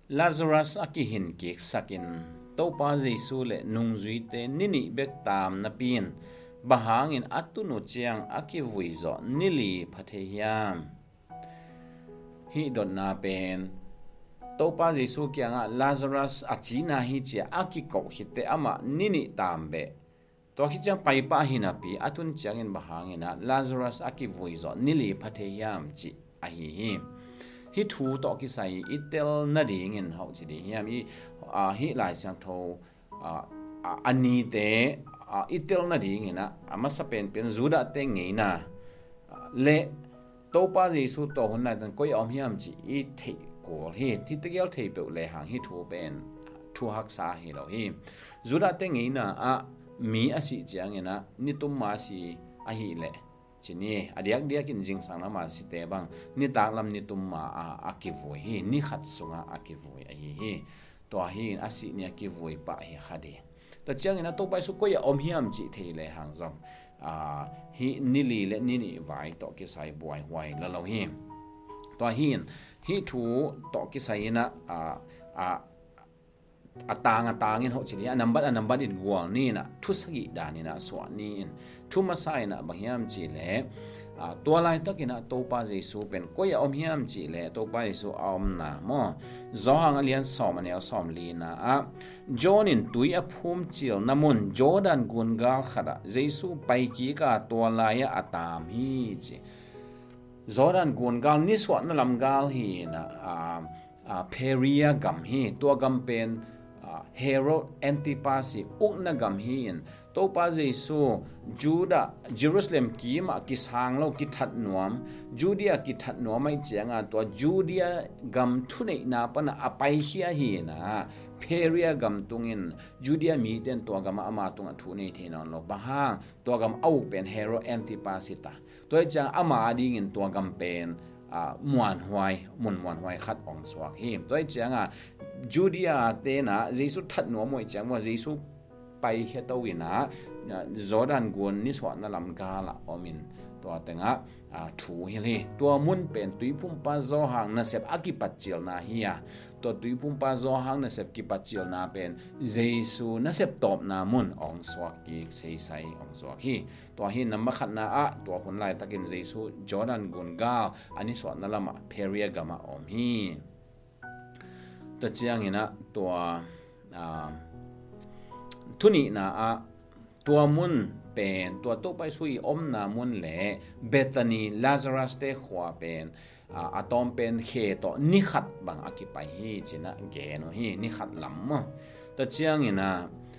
Lazarus aki hin kik sakin topa Jesu le nungzui te nini bek tam na pin bahangin atunu chiang aki vuizo nili phathehiam hi dot na pen topa Jesu kyanga Lazarus achina hi chia aki ko hite ama nini tambe to hi chang pai pa hinapi atun chiangin bahangina Lazarus aki vuizo nili phathehiam chi ahi hi thu to ki sai itel na ding in hau chi di hiam hi lai sang tho ani te itel na ding ina ama sa pen juda te ngeina le topa Jesu to hun na tan koi om hiam chi I thei ko hi ti te gel thei pe le hang hi thu pen thu hak sa hi lo hi juda te ngeina mi asi chiang ina ni tum ma si a hi le chini adiak diak in jing sang lama si te bang ni tak lam ni tum ma akivoi hi ni khat sunga akivoi a hi to hi asi ni akivoi pa hi khade to chiang ina to pai su ko ya om hiam chi thei le hang zong hi nili le nini vai to ki sai buai huai la lo hi to hi thu to ki sai na atangin ho chini number in guang ni na thu sagi dani na so ni in thu masai na banghiam chi le to lai takina topa Jesu pen ko ya om hiam chi le topa Jesu om na mo zo hang alian som anel som li na John in tui a phum chil namun Jordan gungal khada Jesu pai ki ka to lai atam hi chi Jordan gungal ni swat na lam gal hi na peria gam hi to gam pen Herod Antipasi ukna gam hi in topa Jesu Juda Jerusalem ki ma ki sang lo ki that nuam Judea ki that nuam mai chianga to Judea gam thunei na pana apai hia hi na peria gam tungin Judea mi ten to gam ama tunga thunei thenon lo bahang to gam au pen Herod Antipasi ta to chang ama ding in to gam pen muan huai khat ong swak hi toi changa Judea te na Jesu that no moi chang wa Jesu pai he to wina Jordan gun ni swat na lam ga la omin to tenga thu hi le to mun pen tui pum pa zo hang na sep aki pachil na hiya to tui pum pa zo hang na sep ki pachil na pen Jesu na sep top na mun ong swak ki sei sai ong swak hi to hi nam khat na to hun lai takin Jesu Jordan gun ga ani swat na lama peria gama om hi to chiang ina to thuni na tua mun pen tua to pai sui om na mun le Bethany Lazarus te khwa pen atom pen khe to ni khat bang akipai hi china ge no hi ni khat lam mo to chiang ina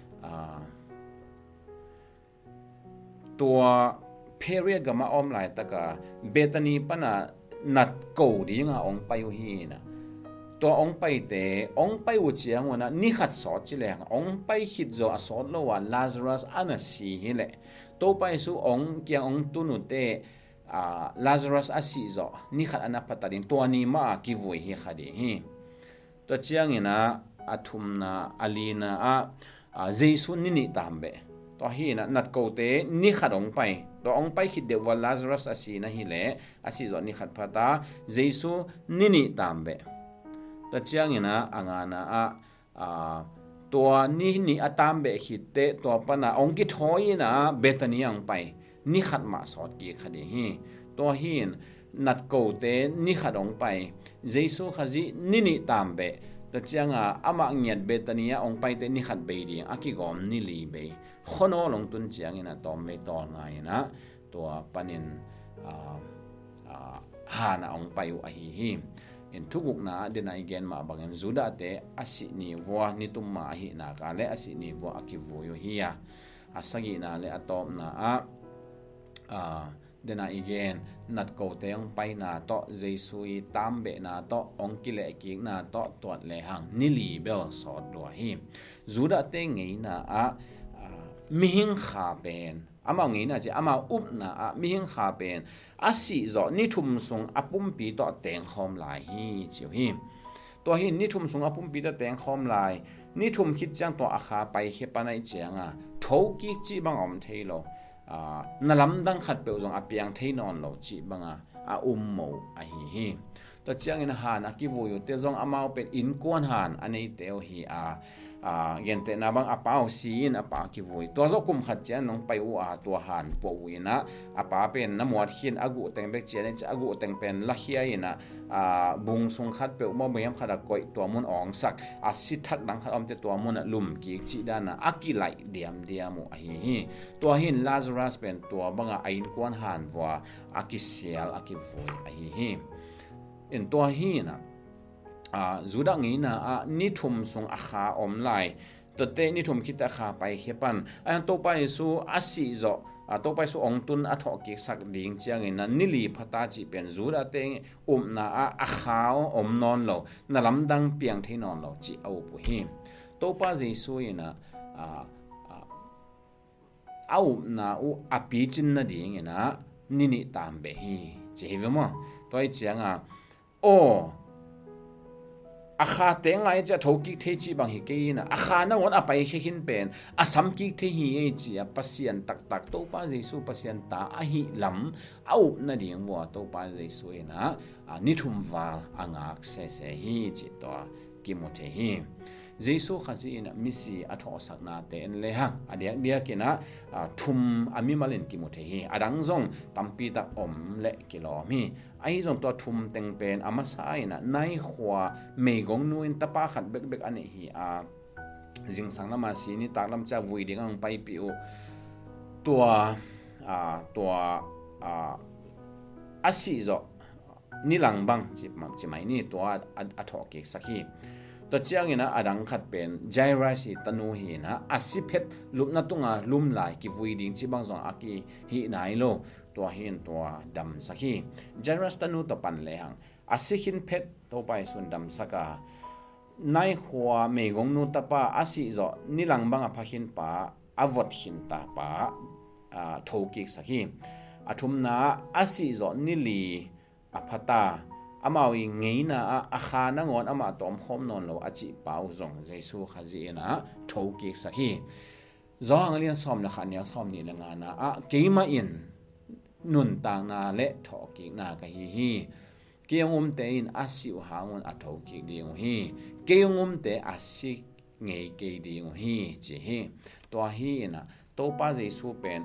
tua period gama om lai taka Bethany pana nat ko di nga ong payu hi na to ong pai te ong pai u chiang wana ni khat so chi le ong pai hit zo a so lo wa Lazarus ana si hi le to pai su ong kyang ong tu nu te Lazarus a si zo ni khat ana patarin to ni ma ki voi hi khadi hi to chiang ina athum na alina Jesu ni tambe to hi na nat ko te ni khat ong pai to ong pai hit de wa Lazarus a si na hi le a si zo ni khat phata Jesu ni tambe ta chiang ina angana tua ni atambe hitte to pana ongki thoi na Bethany ang pai ni khat ma sot ki khadi hi to hin nat ko te ni khat ong pai Jesu khaji ni tambe ta chianga ama ngiat Bethany ong pai te ni khat be ri aki gom ni li be khono long tun chiang ina tom me to ngai na to panin hana ong pai u hi in thuguk na dena igen ma bangen Juda te asi ni wa ni tumma hi na ka le asi ni wa akivu yo hiya asagi na le atom na dena igen nat ko te ang pai na to Jesu I tambe na to ong kile ki na to tot le hang ni li bel so do hi Juda te ngei na mi hing kha pen ama ngi na che ama up na mi hing kha pen asi zo ni thum sung apum pi to teng khom lai hi chiu hi to hi ni thum sung apum pi to teng khom lai ni thum khit chang to akha pai he panai changa tho ki chi bang om theilo nalam dang khat pe zong apiang theinon lo chi banga mo a hi to chiang in han akivu yu te zong amau pen in kon han anei teo hi gen te na bang apau sin apa ki voi to zo kum khat chian nong pai u to han po wina apa pen na muat hin agu teng bek chian agu teng pen la hia ina bung sung khat pe mo mayam khada koi to mun ong sak si thak dang khat om te to mun lum ki chi dana akilai diamu hi to hin Lazarus pen to banga ain kon han wa akisial akivoi hi in to hi na zuda ngi na ni thum sung akha om lai to te ni thum khita kha pai hepan an to pai su asi zo to pai su ong tun atho ki sak ding chiang in na nili phata chi pen zuda te na akha om non lo na lamdang piang the non lo chi au pu hi to pa jesu ina au na u api chin na ding ina nini tam be hi che ve mo toi chiang o akha te ngai cha thoki the chi bang hi ke na akha na ngon apai he hin pen asam ki the hi e chi pasian tak to pa jesu pasian ta hi lam au na ding wa to pa jesu na ni thum wal angak se hi chi to ki mo the hi jesu khazi ina misi atho sakna te en le ha adia dia kina thum ami malin ki mo the hi adang zong tampi ta om le kilomi ai zong to thum teng pen amasa ina nai khwa meigong nuin tapa khat bek ani hi jing sang lama si ni taklam cha vui ding ang pai piu tua asi zo nilang bang chi mai ni to atho ke sakhi to chiang ina adang khat pen jairasi tanu hi na asiphet lupna tunga lum lai ki vui ding chi bang zong aki hi nai lo to hin to dam sakhi jairas tanu to pan le hang asikhin phet to pai sun dam saka nai khwa megong nu tapa asi zo nilang bang aphakin pa avot hin ta pa thoki sakhi athumna asi zo nili aphata amawi ngeina akha na ngon ama tom khom non lo achi pau zong jesu khazi na thoki sakhi zong alian som na khania som ni nga na keima in nun tang na le thoki na ka hi keungum te in asiu hangun athoki ding hi keungum te asi ngei ke ding hi chi hi to hi na to pa jesu pen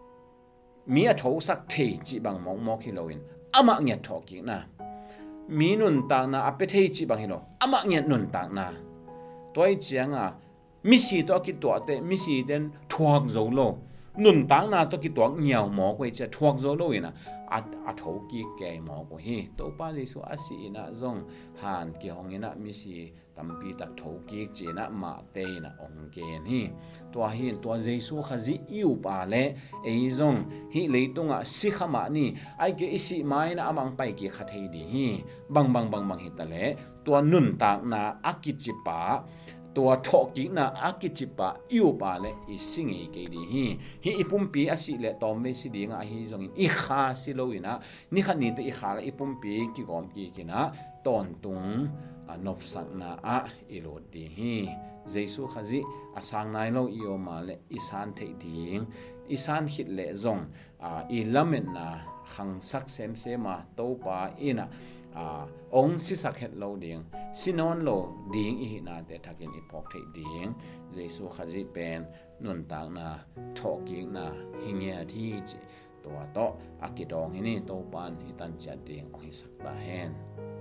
mi atho sak the chi bang mong mo khiloin ama nge thoki na mi nun tang na apethei chi bang hilo ama nge nun tang na toi chiang mi si to ki to te mi si den thuak zo lo nun tang na to ki to ngiao mo ko che thuak zo lo ina a tho ki ke mo ko hi to pa jesu asi ina zong han ki hong ina mi si tampi tak tho ki che na ma te na ong gen hi to hi to jesu khazi yu pa le e zong hi leitunga si khama ni ai ke isi mai na amang pai ki khathei di hi bang hi ta le to nun tak na akichi paตัวทอกินะอากิจิปะอิวปาเลอิสิงเกดีhi ipumpi asi le tom ve si dinga hi zongin I kha si loina ni khani te I kha la ipumpi ki gom ki kina ton tung nop sak na ilodi hi jesu khazi asang nai lo io ma le isan the ding isan hit le zong I lamen na khang sak sem se ma to pa ina ong si sak het lo ding sinon lo ding I na te thakin ipok the ding jesu khazi pen nun tang na thoking na hingya thi chi to akidong ini to pan hitan cha ding ong sak ta hen